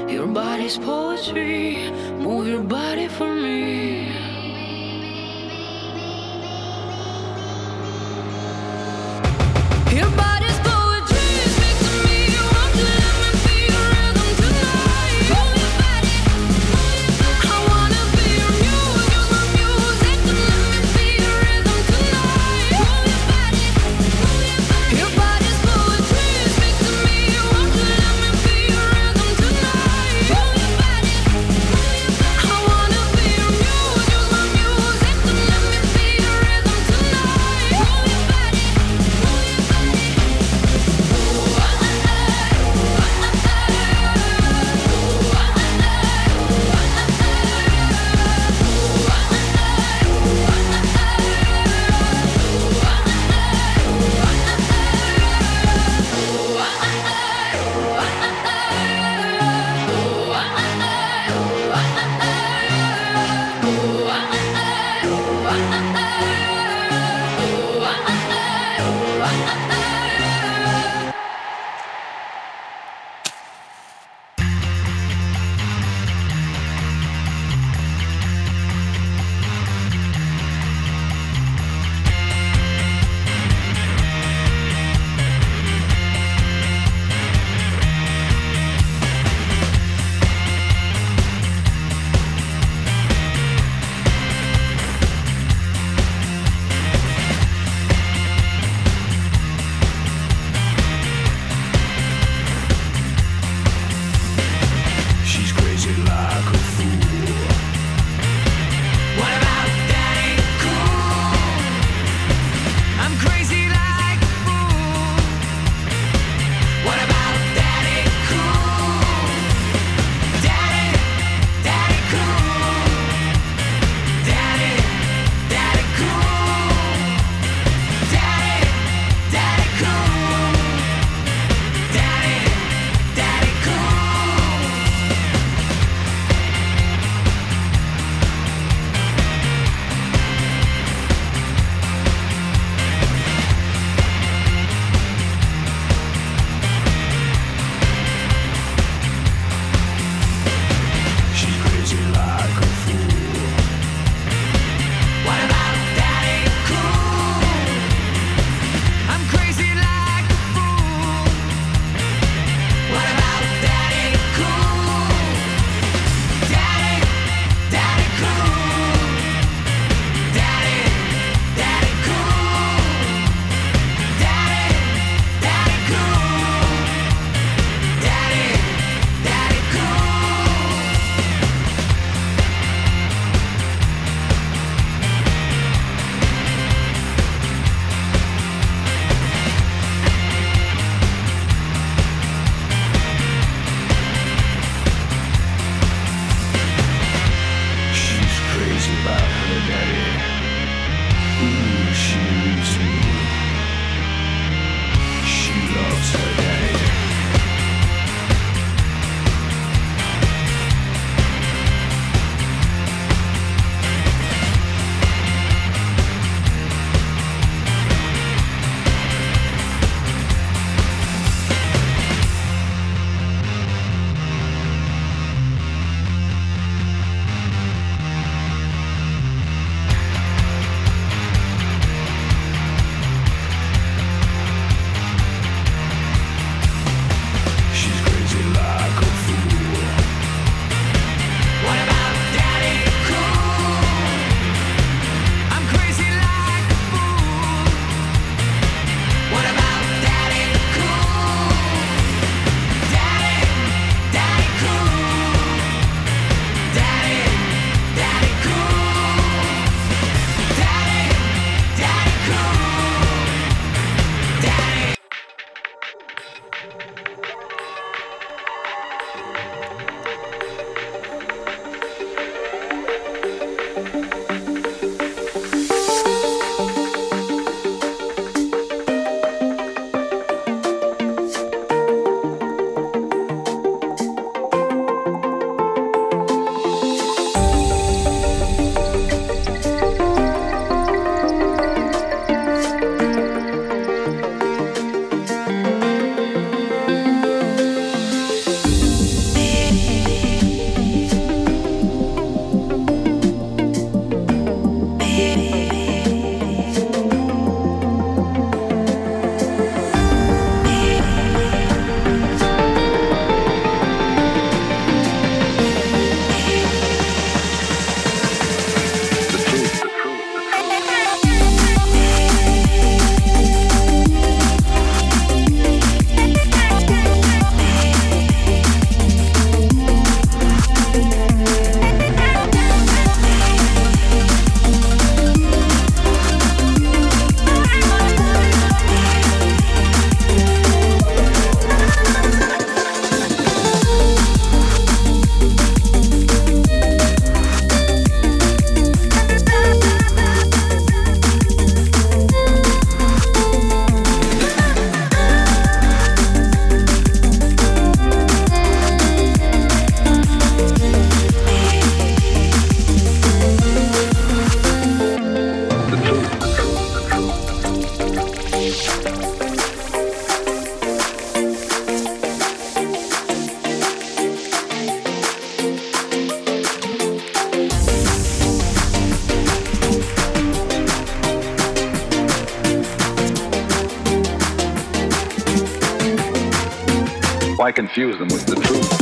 Your body's poetry. Move your body for me. Your body's poetry. Speak to me. Won't you let me be your rhythm tonight? Move your body. I wanna be your muse. Use my music to let me be your rhythm tonight. Move your body. Your body's poetry. Speak to me. Won't you let me be your rhythm tonight? Move your body. I wanna be your muse. Use my Why confuse them with the truth?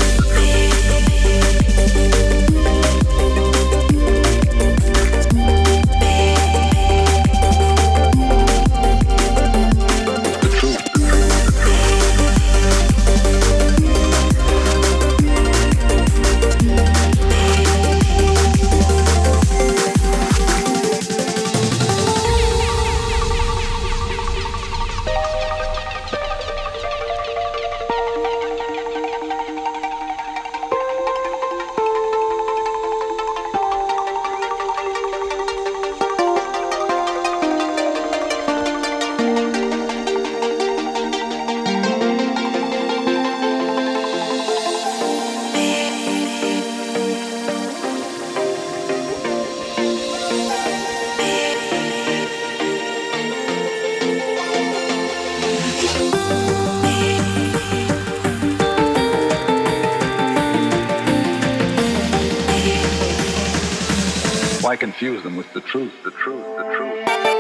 Why confuse them with the truth, the truth, the truth?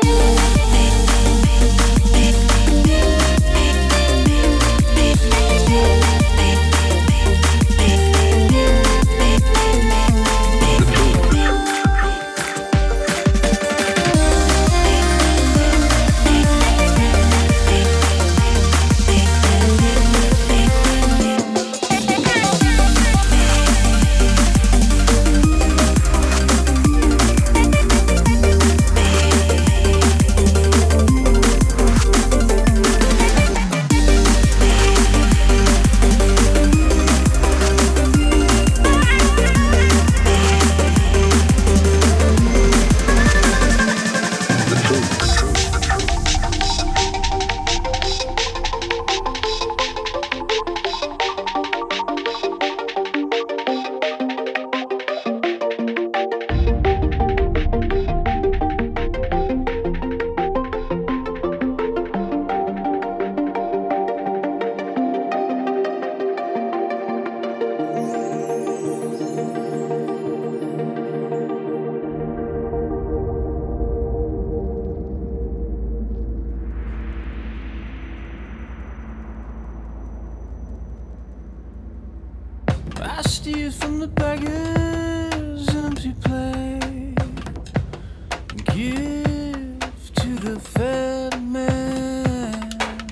I steal from the beggar's empty plate and give to the fed man.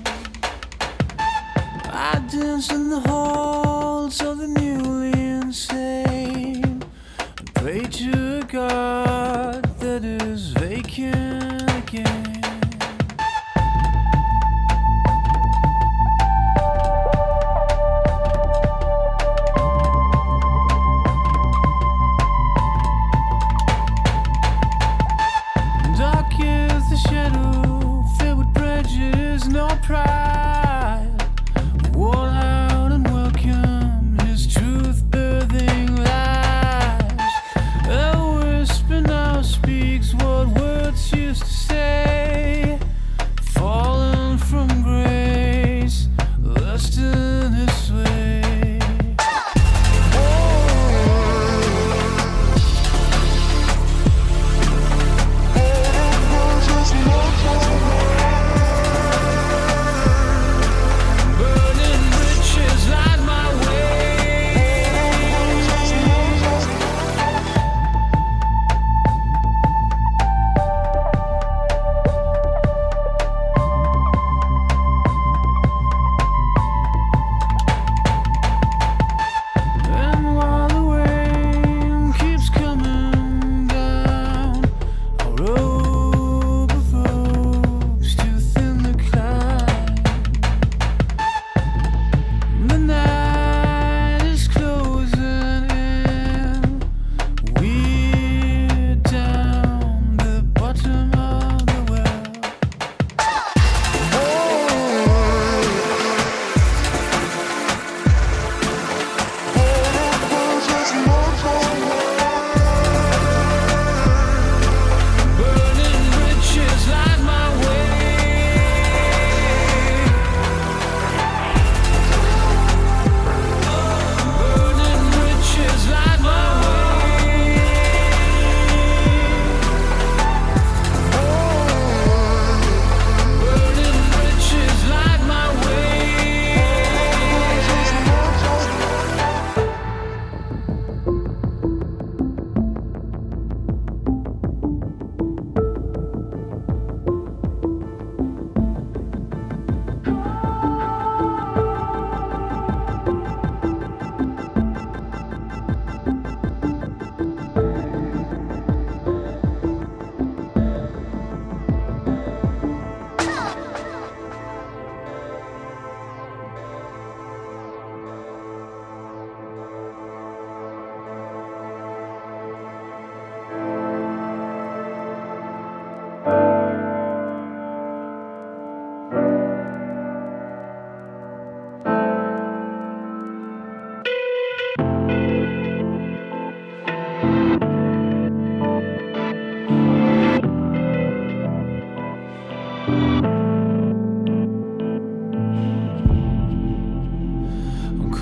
I dance in the halls of the newly insane and pray to a God that is vacant again. No pride, worn out and well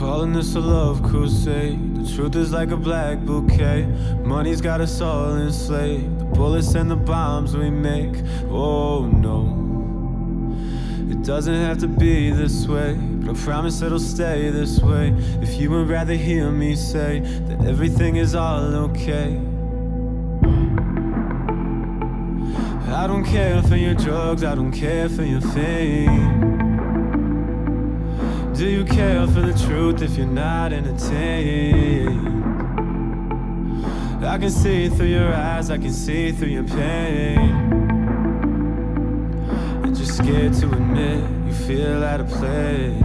Calling this a love crusade. The truth is like a black bouquet. Money's got us all enslaved. The bullets and the bombs we make. Oh no, it doesn't have to be this way, but I promise it'll stay this way. If you would rather hear me say that everything is all okay. I don't care for your drugs, I don't care for your fame. Do you care for the truth if you're not entertained? I can see through your eyes, I can see through your pain. And you're scared to admit you feel out of place.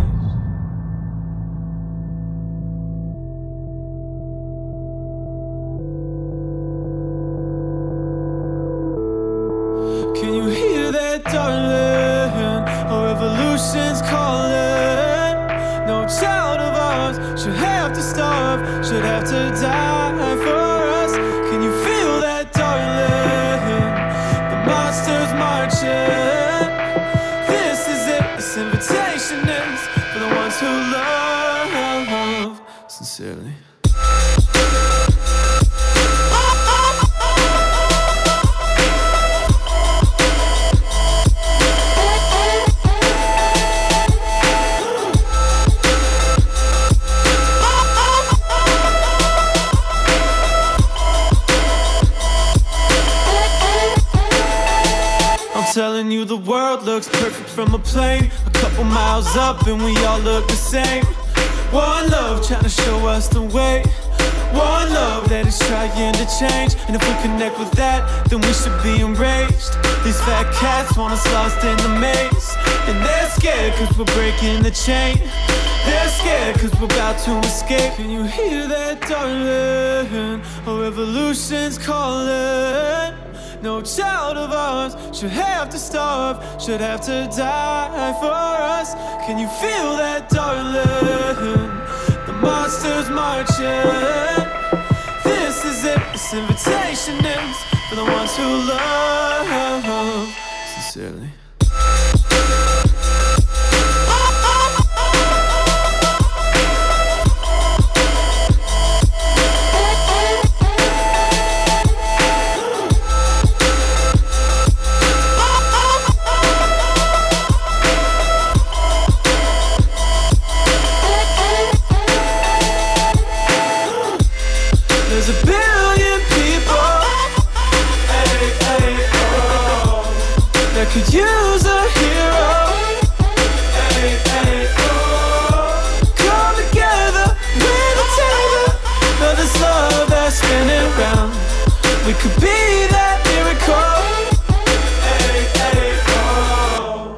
Can you hear that, darling? A revolution's calling. No child of ours should have to starve, should have to die for us. Can you feel that, darling? The monsters marching. This is it, this invitation is for the ones who love sincerely. Telling you the world looks perfect from a plane. A couple miles up and we all look the same. One love trying to show us the way. One love that is trying to change. And if we connect with that, then we should be enraged. These fat cats want us lost in the maze. And they're scared cause we're breaking the chain. They're scared cause we're about to escape. Can you hear that, darling? A revolution's calling. No child of ours should have to starve, should have to die for us. Can you feel that, darling? The monsters marching. This is it, this invitation is for the ones who love sincerely. Could use a hero. Hey, hey, oh. Come together, we're the table. For this love that's spinning round. We could be that miracle. Hey, hey, oh.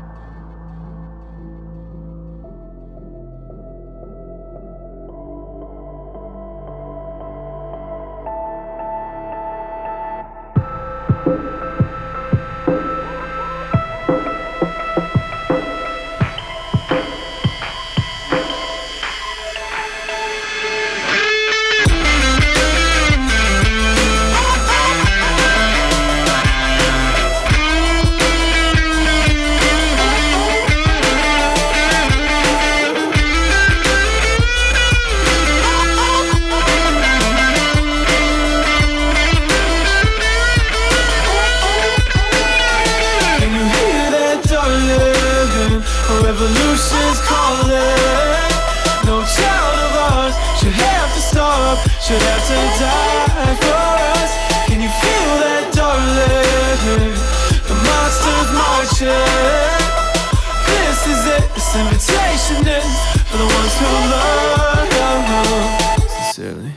Revolution's calling. No child of ours should have to starve, should have to die for us. Can you feel that, darling? The monsters marching. This is it, this invitation is for the ones who love sincerely.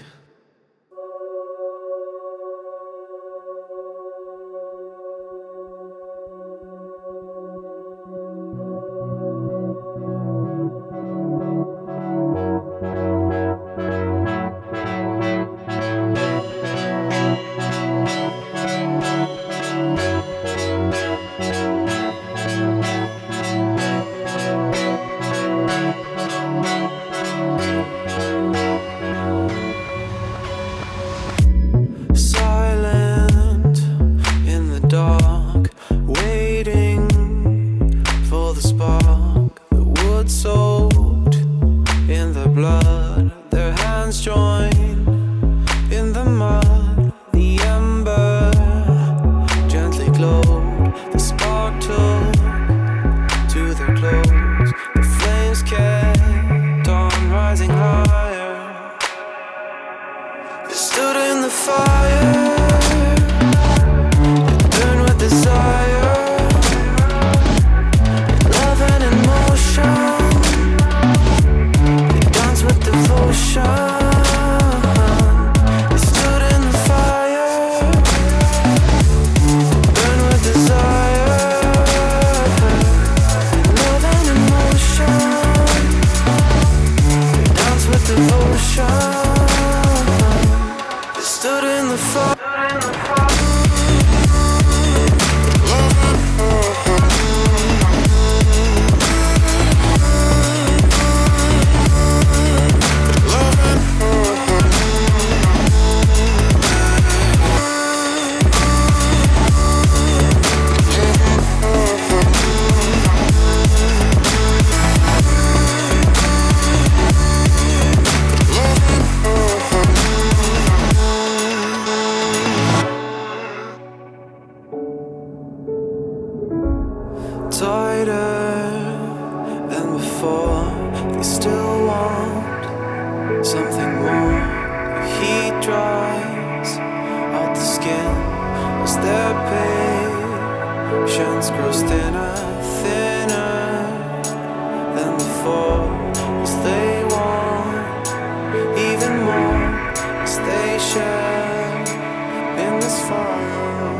something more. Heat dries out the skin as their patience grows thinner, thinner than before. As they want even more, as they share in this fire.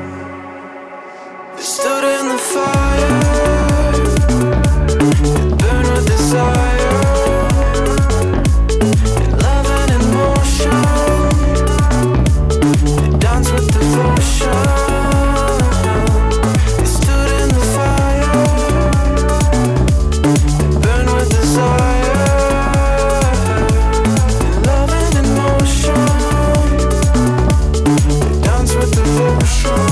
They stood in the fire, it burned with desire, in love and in motion. They danced with devotion. They stood in the fire, it burned with desire, in love and in motion. They danced with devotion.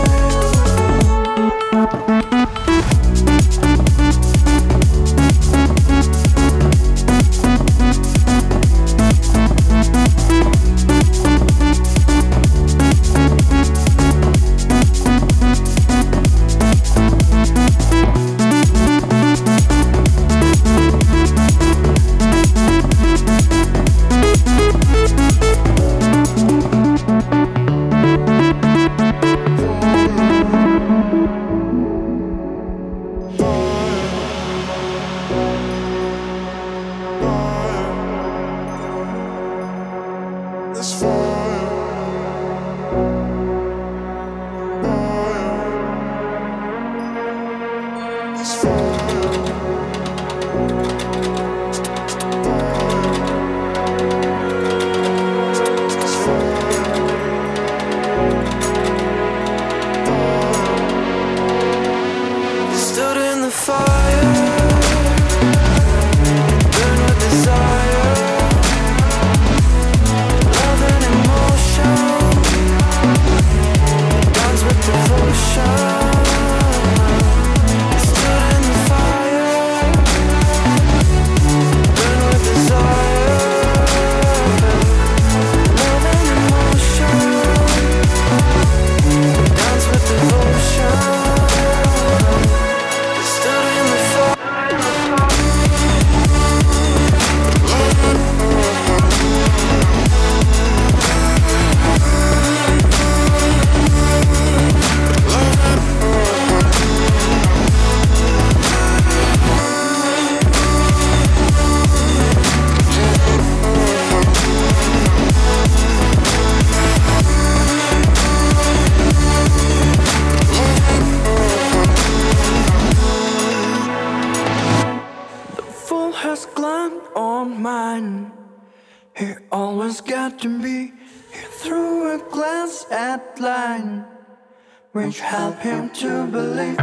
Which help him to believe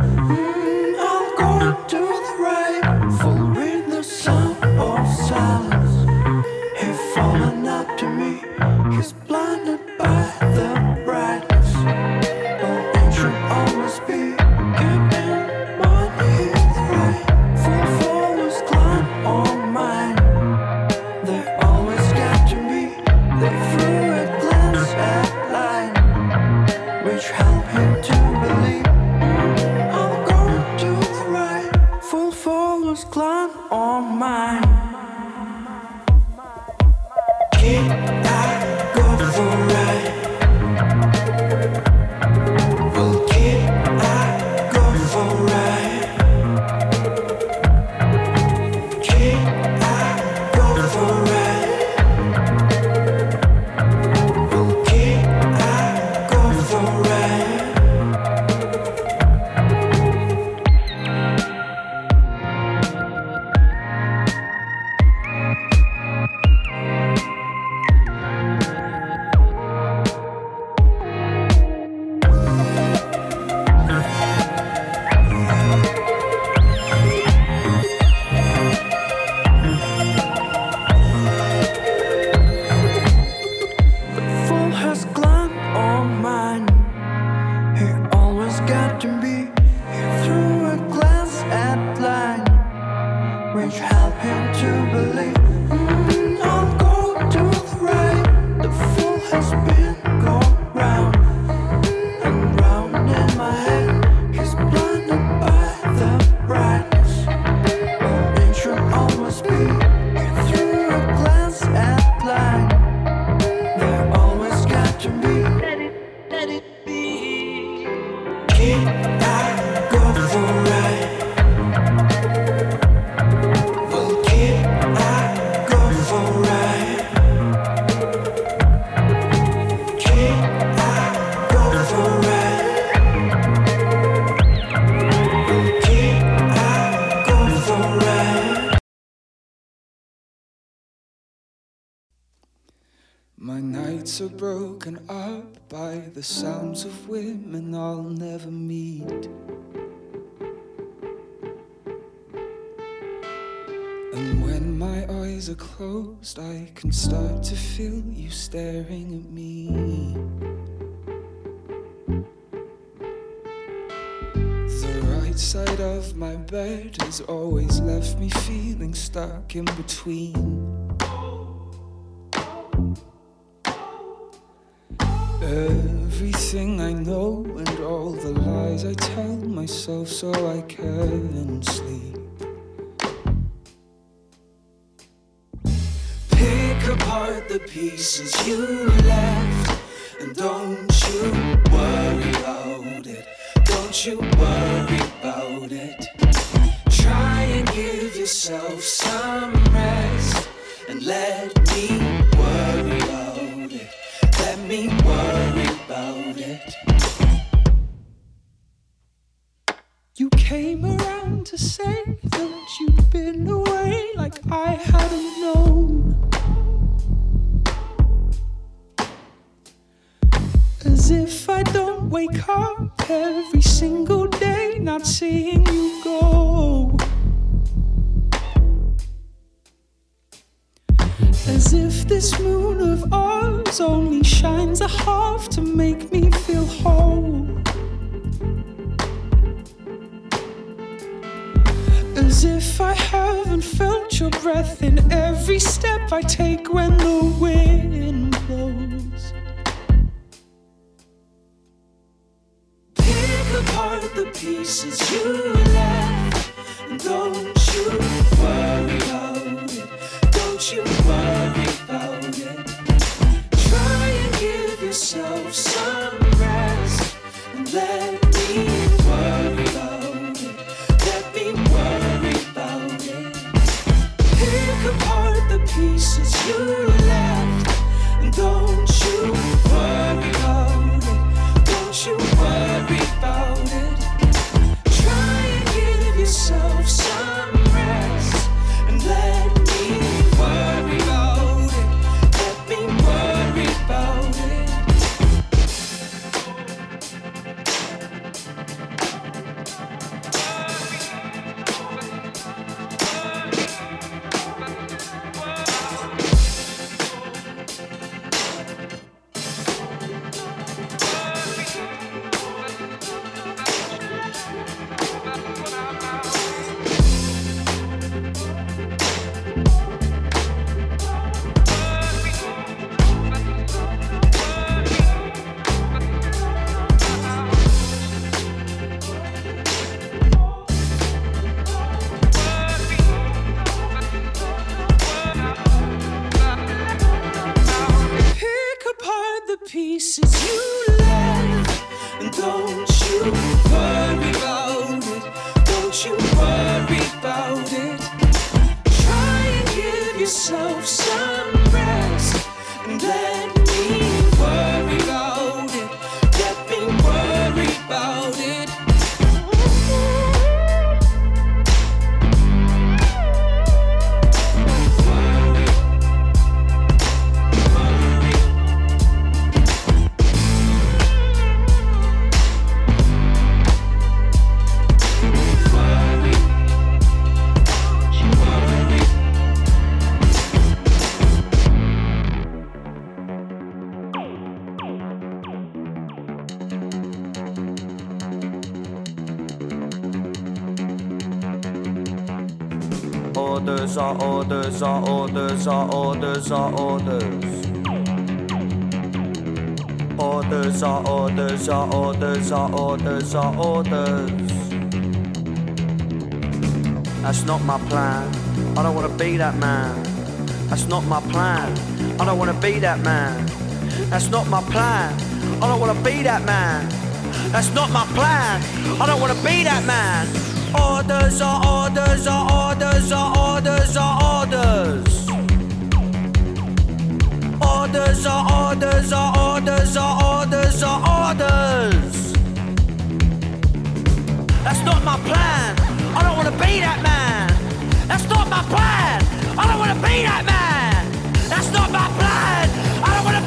I'll go to the right, full with the sound of silence. He's fallen up to me, he's blinded by the brightness. Oh, it should always be keeping what is right. Full forwards climb on mine. They always got to me, they threw a glance at line, which help him to believe I'll go to the right. Full followers climb on mine. Keep I go for right. Well, keep I go for right. Keep I go for right. Well, keep I go for right. Through a glance at My nights are broken up by the sounds of women I'll never meet. And when my eyes are closed, I can start to feel you staring at me. The right side of my bed has always left me feeling stuck in between. Everything I know and all the lies I tell myself so I can sleep. Pick apart the pieces you left, and don't you worry about it. Don't you worry about it. Try and give yourself some rest, and let me worry about it. Let me worry about it. You came around to say that you'd been away like I hadn't known. As if I don't wake up every single day not seeing you go. As if this moon of ours only shines a half to make me feel whole. As if I haven't felt your breath in every step I take when the wind blows. Pick apart the pieces you left, and don't you worry about it. Don't you worry about it. Try and give yourself some rest, and let me worry about it. Let me worry about it. Pick apart the pieces you left, and don't you worry about it. Don't you worry about it. Try and give yourself some rest, and let me worry about it. Let me worry about it. Pick apart the pieces you left, and don't you worry about it. Don't you worry about it. Try and give yourself some rest, and let me worry about it. Let me worry about it. Orders are orders are orders are orders are orders. Orders are orders are orders are orders are orders. That's not my plan. I don't wanna be that man. That's not my plan. I don't wanna be that man. That's not my plan. I don't wanna be that man. That's not my plan. I don't wanna be that man. Orders are orders are orders are orders are orders. Orders are orders are orders are orders are orders. That's not my plan. I don't wanna be that man. That's not my plan. I don't wanna be that man. That's not my plan. I don't wanna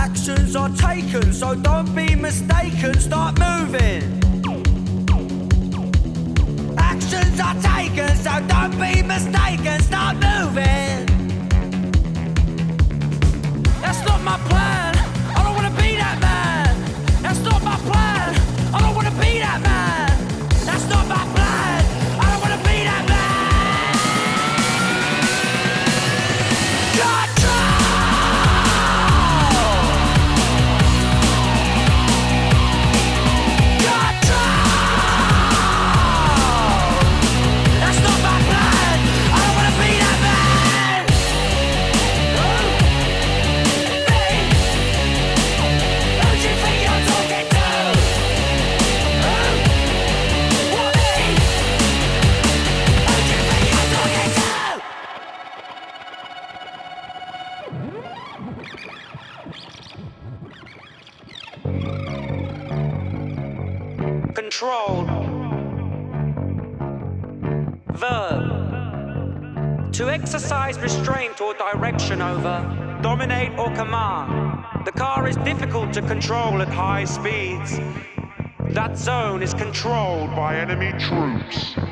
Actions are taken, so don't be mistaken, start moving. Actions are taken, so don't be mistaken, start moving. That's not my plan, I don't wanna be that man. That's not my plan, I don't wanna be that man. That's not my plan, I don't wanna be that man. Controlled. Verb. To exercise restraint or direction over, dominate or command. The car is difficult to control at high speeds. That zone is controlled by enemy troops.